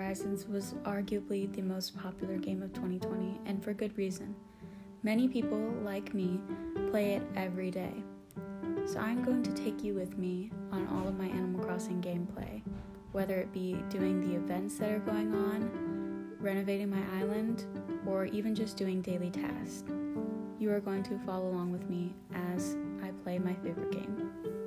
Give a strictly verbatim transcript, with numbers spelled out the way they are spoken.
Horizons was arguably the most popular game of twenty twenty, and for good reason. Many people, like me, play it every day. So I'm going to take you with me on all of my Animal Crossing gameplay, whether it be doing the events that are going on, renovating my island, or even just doing daily tasks. You are going to follow along with me as I play my favorite game.